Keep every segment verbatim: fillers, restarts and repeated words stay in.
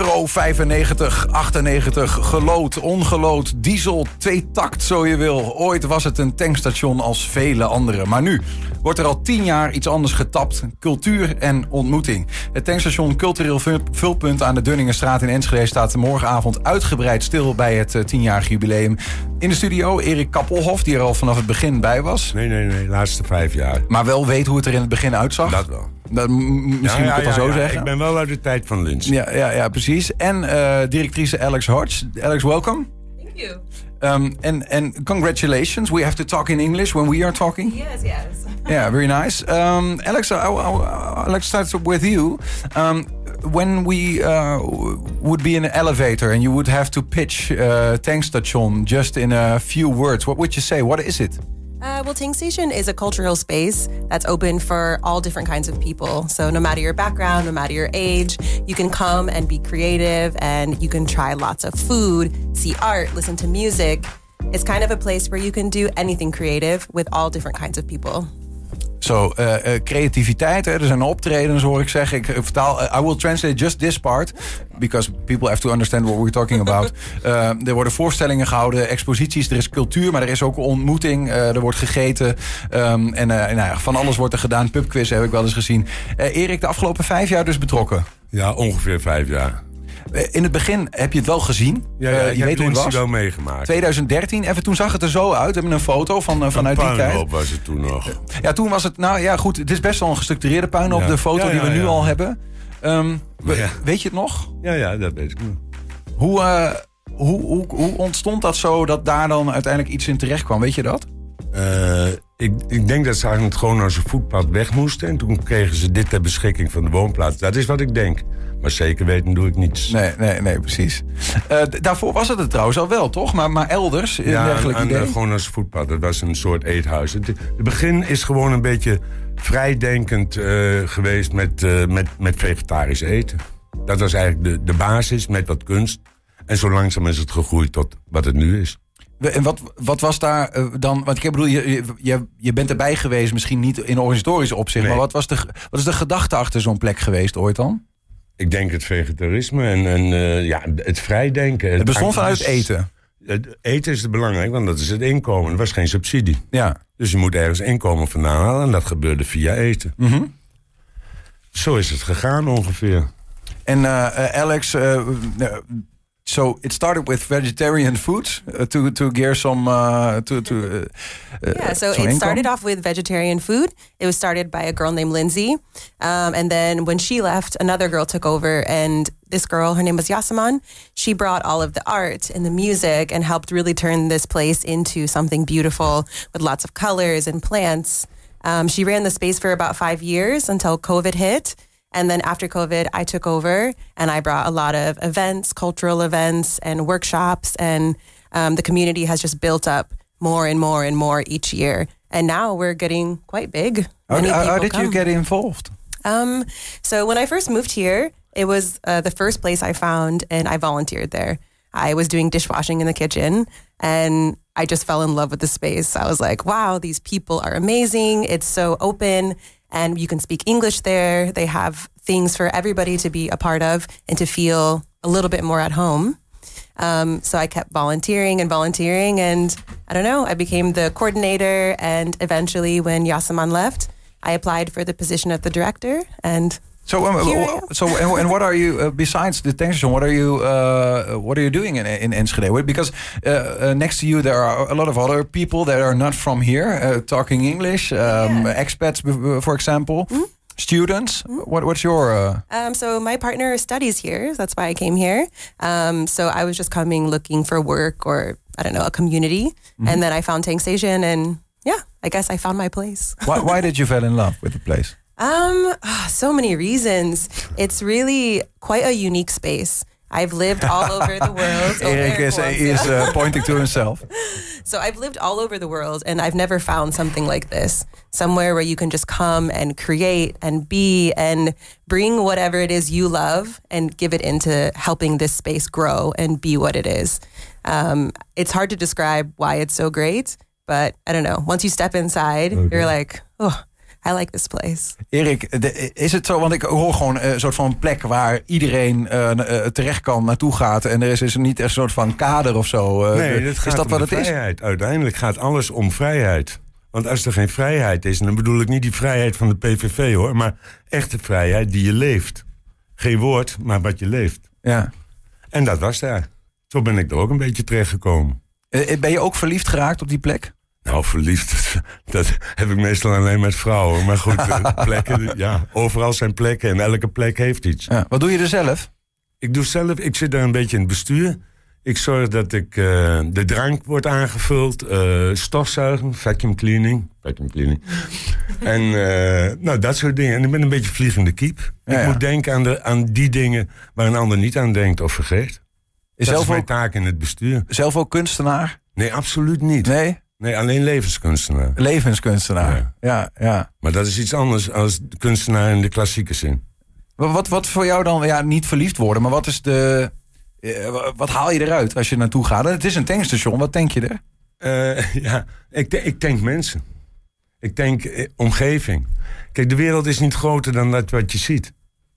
euro vijfennegentig, achtennegentig, gelood, ongelood, diesel, tweetakt zo je wil. Ooit was het een tankstation als vele andere. Maar nu wordt er al tien jaar iets anders getapt. Cultuur en ontmoeting. Het tankstation Cultureel Vulpunt aan de Dunningenstraat in Enschede staat morgenavond uitgebreid stil bij het tienjarig jubileum. In de studio Erik Kappelhof, die er al vanaf het begin bij was. Nee, nee, nee, de laatste vijf jaar. Maar wel weet hoe het er in het begin uitzag. Dat wel. Dat, m- misschien ja, moet ik ja, het wel ja, zo ja, zeggen. Ik ben wel uit de tijd van Linz. Ja, ja, ja, precies. En uh, directrice Alex Hodge. Alex, welcome. Thank you. Um, and, and congratulations. We have to talk in English when we are talking. Yes, yes. Yeah, very nice. Um, Alex, I, I, I, let's start with you. Um, when we uh, would be in an elevator and you would have to pitch uh, Tankstation just in a few words, what would you say? What is it? Uh, well, Tank Station is a cultural space that's open for all different kinds of people. So no matter your background, no matter your age, you can come and be creative and you can try lots of food, see art, listen to music. It's kind of a place where you can do anything creative with all different kinds of people. Zo, so, uh, uh, creativiteit, hè? Er zijn optredens, hoor ik zeggen. Ik vertaal, uh, I will translate just this part, because people have to understand what we're talking about. Uh, er worden voorstellingen gehouden, exposities, er is cultuur, maar er is ook ontmoeting. Uh, er wordt gegeten um, en uh, nou ja, van alles wordt er gedaan. Pubquiz heb ik wel eens gezien. Uh, Erik, de afgelopen vijf jaar dus betrokken? Ja, ongeveer vijf jaar. In het begin heb je het wel gezien. Ja, ja, uh, ik je heb weet hoe het was. wel meegemaakt. twintig dertien, even toen zag het er zo uit. We hebben een foto van, uh, vanuit die tijd. Een puinhoop was het toen nog. Ja, toen was het, nou ja goed, het is best wel een gestructureerde puinhoop, ja. De foto ja, ja, die we nu ja. al hebben. Um, ja. Weet je het nog? Ja, ja, dat weet ik nog. Hoe, uh, hoe, hoe, hoe ontstond dat zo dat daar dan uiteindelijk iets in terecht kwam? Weet je dat? Uh, ik, ik denk dat ze eigenlijk gewoon als een voetpad weg moesten. En toen kregen ze dit ter beschikking van de woonplaats. Dat is wat ik denk. Maar zeker weten doe ik niets. Nee, nee, nee, precies. Uh, d- daarvoor was het er trouwens al wel, toch? Maar, maar elders? In ja, dergelijk aan, idee? aan, gewoon als voetpad. Dat was een soort eethuis. Het, het begin is gewoon een beetje vrijdenkend uh, geweest met, uh, met, met vegetarisch eten. Dat was eigenlijk de, de basis met wat kunst. En zo langzaam is het gegroeid tot wat het nu is. En wat, wat was daar uh, dan... Want ik bedoel, je, je, je bent erbij geweest, misschien niet in organisatorisch opzicht... Nee. Maar wat, was de, wat is de gedachte achter zo'n plek geweest ooit dan? Ik denk het vegetarisme en, en uh, ja, het vrijdenken. Het bestond vanuit eten? Het eten is belangrijk, want dat is het inkomen. Er was geen subsidie. Ja. Dus je moet ergens inkomen vandaan halen en dat gebeurde via eten. Mm-hmm. Zo is het gegaan ongeveer. En uh, uh, Alex... Uh, uh, So it started with vegetarian food uh, to to gear some uh, to to. Uh, yeah, so it income. started off with vegetarian food. It was started by a girl named Lindsay, um, and then when she left, another girl took over. And this girl, her name was Yasaman. She brought all of the art and the music and helped really turn this place into something beautiful with lots of colors and plants. Um, she ran the space for about five years until COVID hit. And then after COVID, I took over and I brought a lot of events, cultural events and workshops. And um, the community has just built up more and more and more each year. And now we're getting quite big. How, how, how did come. you get involved? Um, so when I first moved here, it was uh, the first place I found and I volunteered there. I was doing dishwashing in the kitchen and I just fell in love with the space. I was like, wow, these people are amazing. It's so open. And you can speak English there. They have things for everybody to be a part of and to feel a little bit more at home. Um, so I kept volunteering and volunteering. And I don't know, I became the coordinator. And eventually when Yasaman left, I applied for the position of the director. And so, um, so and, and what are you, uh, besides the tankstation, what are you uh, what are you doing in, in Enschede? Because uh, uh, next to you there are a lot of other people that are not from here, uh, talking English, um, yeah. expats, for example, mm-hmm. students. Mm-hmm. What, what's your... Uh... Um, so my partner studies here. That's why I came here. Um, so I was just coming looking for work or, I don't know, a community. Mm-hmm. And then I found Tank Station and yeah, I guess I found my place. why, why did you fall in love with the place? Um, oh, so many reasons. It's really quite a unique space. I've lived all over the world. Oh, Erik is, is uh, pointing to himself. So I've lived all over the world and I've never found something like this. Somewhere where you can just come and create and be and bring whatever it is you love and give it into helping this space grow and be what it is. Um, it's hard to describe why it's so great, but I don't know. Once you step inside, okay. you're like, oh, I like this place. Erik, de, is het zo, want ik hoor gewoon een soort van plek waar iedereen uh, uh, terecht kan, naartoe gaat. En er is, is niet echt een soort van kader of zo. Uh, nee, dat gaat is dat om wat de het vrijheid. Is? Uiteindelijk gaat alles om vrijheid. Want als er geen vrijheid is, dan bedoel ik niet die vrijheid van de P V V hoor, maar echte vrijheid die je leeft. Geen woord, maar wat je leeft. Ja. En dat was daar. Zo ben ik er ook een beetje terechtgekomen. Uh, ben je ook verliefd geraakt op die plek? Nou, verliefd, dat heb ik meestal alleen met vrouwen. Maar goed, plekken, ja, overal zijn plekken en elke plek heeft iets. Ja, wat doe je er zelf? Ik doe zelf, ik zit daar een beetje in het bestuur. Ik zorg dat ik, uh, de drank wordt aangevuld, uh, stofzuigen, vacuum cleaning. Vacuum cleaning. en uh, nou, dat soort dingen. En ik ben een beetje vliegende kiep. Ja, ik ja. moet denken aan, de, aan die dingen waar een ander niet aan denkt of vergeet. Is dat zelf is mijn ook, taak in het bestuur. Zelf ook kunstenaar? Nee, absoluut niet. Nee? Nee, alleen levenskunstenaar. Levenskunstenaar, ja. ja, ja. Maar dat is iets anders als kunstenaar in de klassieke zin. Wat, wat, wat voor jou dan, ja, niet verliefd worden, maar wat is de... Uh, wat haal je eruit als je naartoe gaat? Het is een tankstation, wat denk je er? Uh, ja, ik, ik denk mensen. Ik denk eh, omgeving. Kijk, de wereld is niet groter dan dat wat je ziet.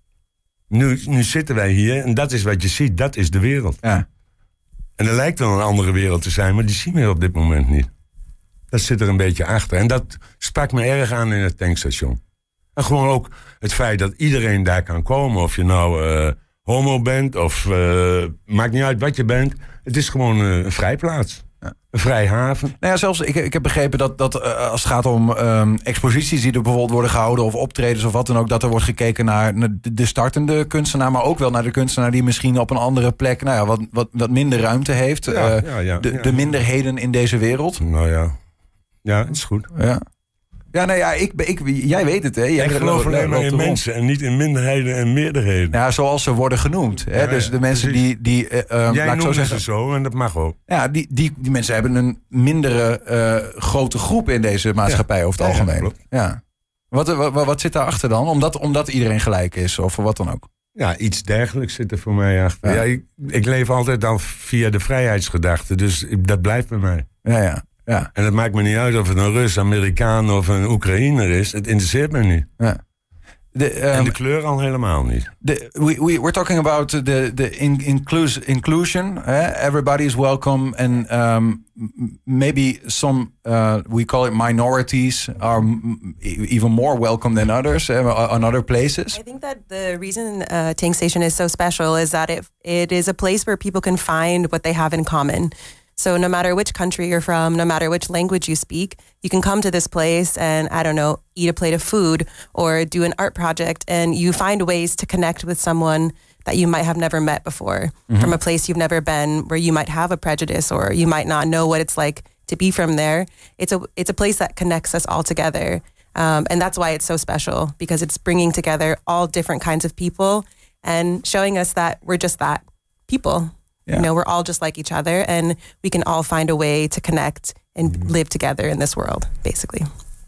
Nu, nu zitten wij hier en dat is wat je ziet, dat is de wereld. Ja. En er lijkt wel een andere wereld te zijn, maar die zien we op dit moment niet. Dat zit er een beetje achter. En dat sprak me erg aan in het tankstation. En gewoon ook het feit dat iedereen daar kan komen. Of je nou uh, homo bent of uh, maakt niet uit wat je bent. Het is gewoon uh, een vrijplaats. Ja. Een vrij haven. Nou ja, zelfs, ik, ik heb begrepen dat, dat uh, als het gaat om um, exposities die er bijvoorbeeld worden gehouden, of optredens of wat dan ook, dat er wordt gekeken naar de startende kunstenaar, maar ook wel naar de kunstenaar die misschien op een andere plek, nou ja, wat, wat, wat minder ruimte heeft. Ja, uh, ja, ja, de, ja. de minderheden in deze wereld. Nou ja, ja, het is goed. Ja. Ja, nou ja, ik, ik, jij weet het, hè? Jij ik geloof alleen maar in rond. mensen en niet in minderheden en meerderheden. Ja, zoals ze worden genoemd. Hè? Ja, dus ja, de mensen precies. die... die uh, Jij laat ik zo noemt zeggen, ze zo en dat mag ook. Ja, die, die, die mensen hebben een mindere uh, grote groep in deze maatschappij, ja. over het ja, algemeen. Ja, klopt. Ja. Wat, wat, wat zit daarachter dan? Omdat, omdat iedereen gelijk is of wat dan ook? Ja, iets dergelijks zit er voor mij achter. Ja. Ja, ik, ik leef altijd al via de vrijheidsgedachte, dus ik, dat blijft bij mij. Ja, ja. Ja. En het maakt me niet uit of het een Rus, Amerikaan of een Oekraïner is. Het interesseert me niet. Ja. De, um, en de kleur al helemaal niet. The, we, we, we're talking about the, the in, inclus, inclusion. Eh? Everybody is welcome. And um, maybe some, uh, we call it minorities, are m- even more welcome than others uh, on other places. I think that the reason uh, Tank Station is so special is that it, it is a place where people can find what they have in common. So no matter which country you're from, no matter which language you speak, you can come to this place and, I don't know, eat a plate of food or do an art project, and you find ways to connect with someone that you might have never met before, mm-hmm. from a place you've never been, where you might have a prejudice or you might not know what it's like to be from there. It's a it's a place that connects us all together. Um, and that's why it's so special, because it's bringing together all different kinds of people and showing us that we're just that, people. Yeah. You know, we're all just like each other, and we can all find a way to connect and mm-hmm. live together in this world, basically.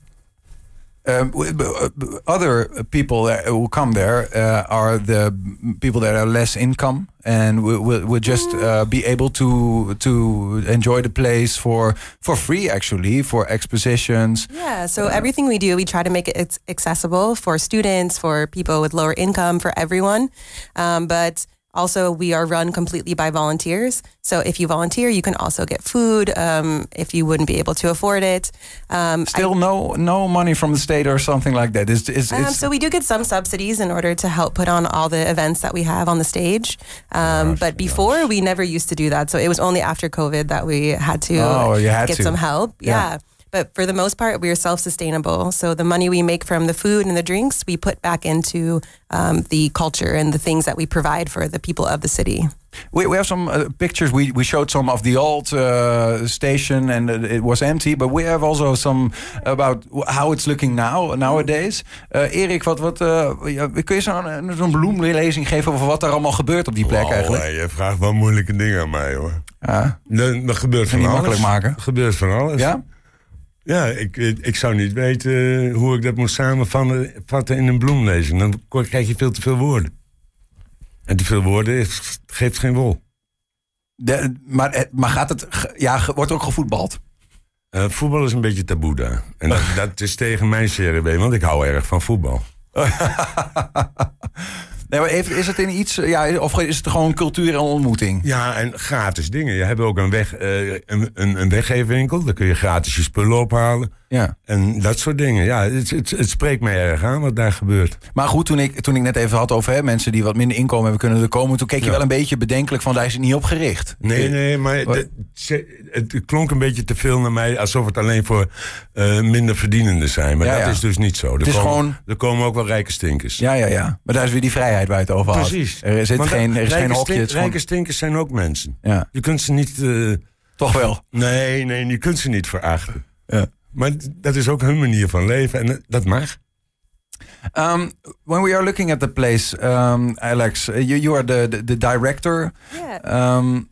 Um, other people that will come there uh, are the people that are less income and will, will, will just uh, be able to to enjoy the place for for free, actually, for expositions. Yeah, so uh, everything we do, we try to make it accessible for students, for people with lower income, for everyone. Um, but also, we are run completely by volunteers. So if you volunteer, you can also get food um, if you wouldn't be able to afford it. Um, Still I, no no money from the state or something like that? It's, it's, um, it's so we do get some subsidies in order to help put on all the events that we have on the stage. Um, gosh, but before, gosh. we never used to do that. So it was only after COVID that we had to oh, you had get to. some help. Yeah. yeah. But for the most part, we are self-sustainable. So the money we make from the food and the drinks, we put back into um, the culture and the things that we provide for the people of the city. We, we have some uh, pictures. We, we showed some of the old uh, station and it was empty. But we have also some about how it's looking now nowadays. Uh, Erik, wat, wat, uh, kun je zo'n zo'n bloemlezing geven over wat er allemaal gebeurt op die plek wow, eigenlijk? Nee, je vraagt wel moeilijke dingen aan mij, hoor. Ja. Er, er gebeurt van niet alles. makkelijk maken. Er gebeurt van alles. Ja? Ja, ik, ik zou niet weten hoe ik dat moet samenvatten in een bloemlezing. Dan krijg je veel te veel woorden. En te veel woorden geeft geen wol. De, maar, maar gaat het, ja, wordt er ook gevoetbald? Uh, voetbal is een beetje taboe daar. En dat, dat is tegen mijn C R W, want ik hou erg van voetbal. Nee, maar is het in iets, ja, of is het gewoon cultuur en ontmoeting? Ja, en gratis dingen. Je hebt ook een, weg, uh, een, een, een weggeefwinkel. Daar kun je gratis je spullen ophalen. Ja. En dat soort dingen. Ja, het, het, het spreekt mij erg aan wat daar gebeurt. Maar goed, toen ik, toen ik net even had over hè, mensen die wat minder inkomen hebben kunnen er komen, toen keek je ja. wel een beetje bedenkelijk van, daar is het niet op gericht. Nee, nee, maar de, het klonk een beetje te veel naar mij, alsof het alleen voor uh, minder verdienenden zijn. Maar ja, dat ja. is dus niet zo. Er, het is komen, gewoon... er komen ook wel rijke stinkers. Ja, ja, ja. Maar daar is weer die vrijheid waar je het over had. Precies. Er zit geen, er is geen hokje. Stink, gewoon... Rijke stinkers zijn ook mensen. Ja. Je kunt ze niet... Uh, Toch wel? Nee, nee, je kunt ze niet verachten. Ja. Maar dat is ook hun manier van leven en dat mag. Um, when we are looking at the place, um, Alex, you, you are the, the, the director. Yeah. Um,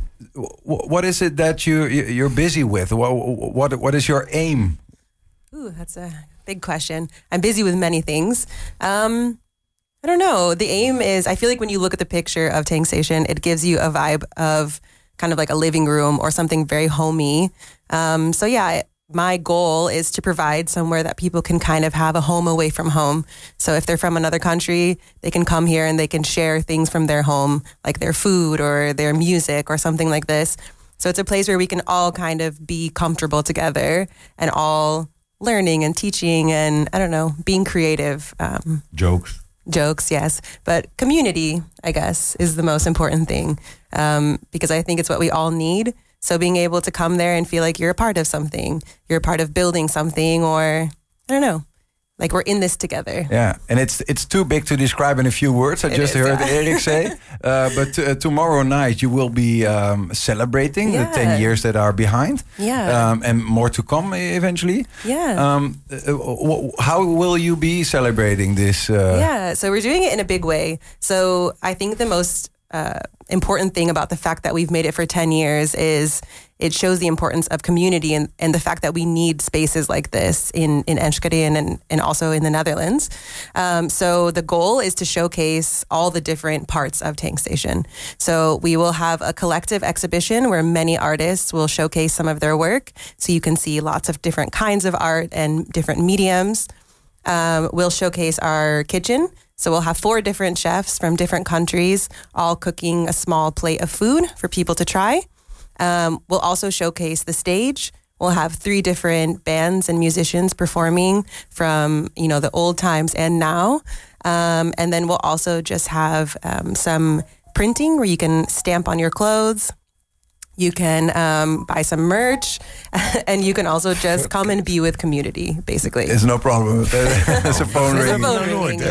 what is it that you, you're busy with? What, what, what is your aim? Ooh, that's a big question. I'm busy with many things. Um, I don't know. The aim is, I feel like when you look at the picture of Tang Station, it gives you a vibe of kind of like a living room or something very homey. Um, so yeah, my goal is to provide somewhere that people can kind of have a home away from home. So if they're from another country, they can come here and they can share things from their home, like their food or their music or something like this. So it's a place where we can all kind of be comfortable together and all learning and teaching and, I don't know, being creative. Um, Jokes. Jokes, yes. But community, I guess, is the most important thing um, because I think it's what we all need. So being able to come there and feel like you're a part of something, you're a part of building something, or I don't know, like we're in this together. Yeah, and it's it's too big to describe in a few words. I it just is, heard yeah. Erik say. Uh, but uh, tomorrow night you will be um, celebrating yeah. the ten years that are behind. Yeah. Um, and more to come eventually. Yeah. Um, uh, how will you be celebrating this? Uh... Yeah, so we're doing it in a big way. So I think the most Uh, important thing about the fact that we've made it for ten years is it shows the importance of community and, and the fact that we need spaces like this in, in Enschede and, and also in the Netherlands. Um, so the goal is to showcase all the different parts of Tang Station. So we will have a collective exhibition where many artists will showcase some of their work. So you can see lots of different kinds of art and different mediums. Um, we'll showcase our kitchen. So we'll have four different chefs from different countries, all cooking a small plate of food for people to try. Um, we'll also showcase the stage. We'll have three different bands and musicians performing from, you know, the old times and now. Um, and then we'll also just have um, some printing where you can stamp on your clothes. You can um, buy some merch, and you can also just come and be with community, basically. There's no problem. There's a phone There's ring. a phone ring.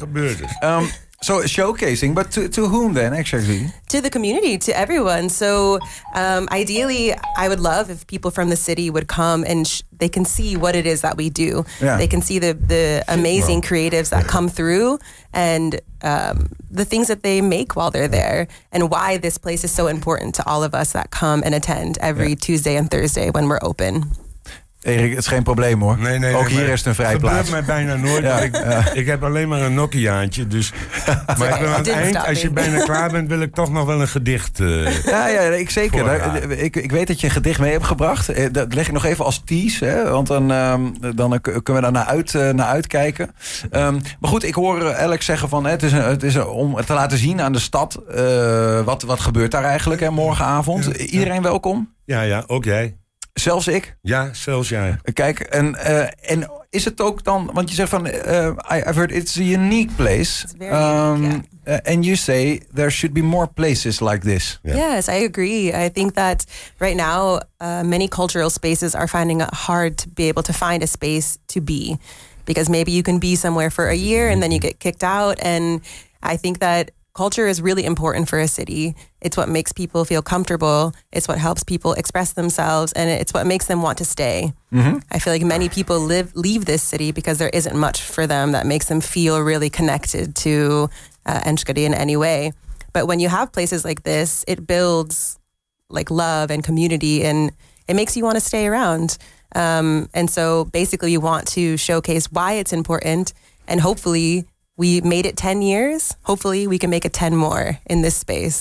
Yeah. Um, so showcasing, but to, to whom then, actually? To the community, to everyone. So um, ideally, I would love if people from the city would come and sh- they can see what it is that we do. Yeah. They can see the, the amazing creatives that come through and um, the things that they make while they're there and why this place is so important to all of us that come and attend every yeah. Tuesday and Thursday when we're open. Erik, het is geen probleem hoor. Nee, nee, Ook nee, hier is het een vrije plaats. Dat gebeurt mij bijna nooit. Ja. Ik, uh, ik heb alleen maar een Nokiaantje. Dus, maar ik wil aan het eind, als je bijna klaar bent, wil ik toch nog wel een gedicht. Uh, ja, ja, ik zeker. Daar, ik, ik weet dat je een gedicht mee hebt gebracht. Dat leg ik nog even als tease. Hè, want dan, um, dan kunnen we daar naar, uit, uh, naar uitkijken. Um, maar goed, ik hoor Alex zeggen van... Het is, een, het is een, om te laten zien aan de stad... Uh, wat, wat gebeurt daar eigenlijk hè, morgenavond. Ja, ja. Iedereen welkom? Ja, ja, ook jij. Zelfs ik? Ja, zelfs jij. Kijk, en, uh, en is het ook dan... Want je zegt van... Uh, I've heard it's a unique place. It's very um, unique, yeah. uh, and you say there should be more places like this. Yeah. Yes, I agree. I think that right now, uh, many cultural spaces are finding it hard to be able to find a space to be. Because maybe you can be somewhere for a year and then you get kicked out. And I think that culture is really important for a city. It's what makes people feel comfortable. It's what helps people express themselves, and it's what makes them want to stay. Mm-hmm. I feel like many people live leave this city because there isn't much for them that makes them feel really connected to uh, Enschede in any way. But when you have places like this, it builds like love and community, and it makes you want to stay around. Um, and so basically, you want to showcase why it's important, and hopefully we made it ten years. Hopefully we can make it ten more in this space.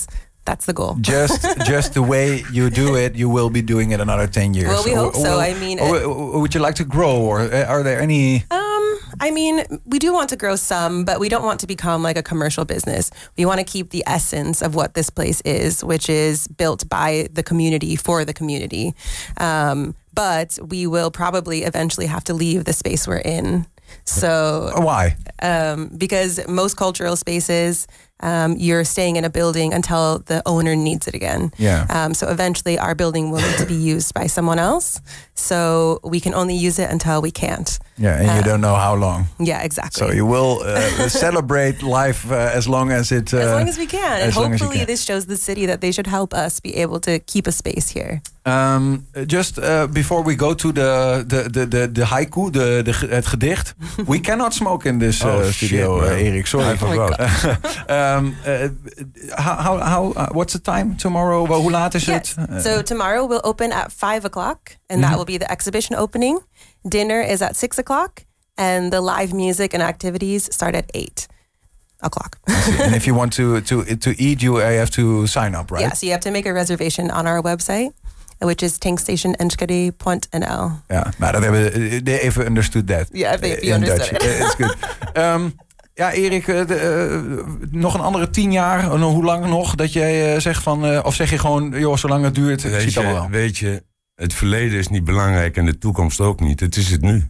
That's the goal. Just just the way you do it, you will be doing it another ten years. Well, we or, hope so. Or, I mean... Or, or would you like to grow? Or are there any... Um, I mean, we do want to grow some, but we don't want to become like a commercial business. We want to keep the essence of what this place is, which is built by the community for the community. Um, but we will probably eventually have to leave the space we're in. So why? Um, because most cultural spaces, um, you're staying in a building until the owner needs it again. Yeah. Um, so eventually, our building will need to be used by someone else. So we can only use it until we can't. Yeah, and uh, you don't know how long. Yeah, exactly. So you will uh, celebrate life uh, as long as it. Uh, as long as we can, and hopefully can. this shows the city that they should help us be able to keep a space here. Um, just uh, before we go to the the the the, the haiku, the, the het gedicht, we cannot smoke in this uh, oh, studio, shit, uh, Erik. Sorry. I forgot. um, uh, how how, how uh, what's the time tomorrow? Well, hoe laat is yes. het? Uh, so tomorrow we'll open at five o'clock, and mm-hmm. that will be the exhibition opening. Dinner is at six o'clock, and the live music and activities start at eight o'clock. And if you want to to to eat, you have to sign up, right? Yeah, so you have to make a reservation on our website, which is tankstationenschede punt n l. Ja, maar dat hebben they even understood that. Yeah, if, if you understood Dutch. it. It's good. Um, ja, Erik, uh, uh, nog een andere tien jaar, uh, hoe lang nog dat jij uh, zegt van, uh, of zeg je gewoon, joh, zolang het duurt, weet ziet je, allemaal wel. Weet je, het verleden is niet belangrijk en de toekomst ook niet. Het is het nu.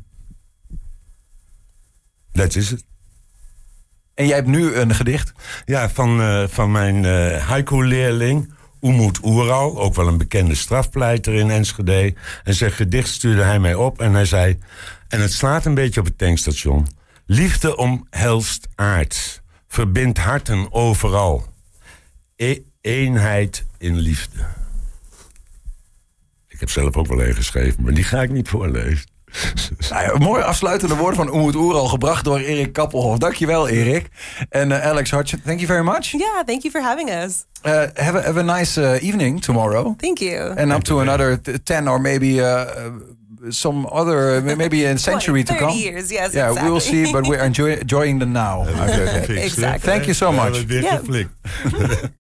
Dat is het. En jij hebt nu een gedicht? Ja, van, uh, van mijn uh, haiku-leerling, Umut Oeral, ook wel een bekende strafpleiter in Enschede. En zijn gedicht stuurde hij mij op en hij zei, en het slaat een beetje op het tankstation. Liefde omhelst aard, verbindt harten overal. E- eenheid in liefde. Ik heb zelf ook wel een geschreven, maar die ga ik niet voorlezen. Nou ja, mooie afsluitende woorden van Umut Oeral, gebracht door Erik Kappelhof. Dankjewel, Erik. En uh, Alex Hodgson, thank you very much. Yeah, thank you for having us. Uh, have, a, have a nice uh, evening tomorrow. Thank you. And up to another t- ten or maybe uh, some other, maybe a century twenty, to come. Years, yes, yeah, exactly. we will see, but we're enjoy, enjoying the now. Exactly. Thank you so much. We hebben weer geflikt.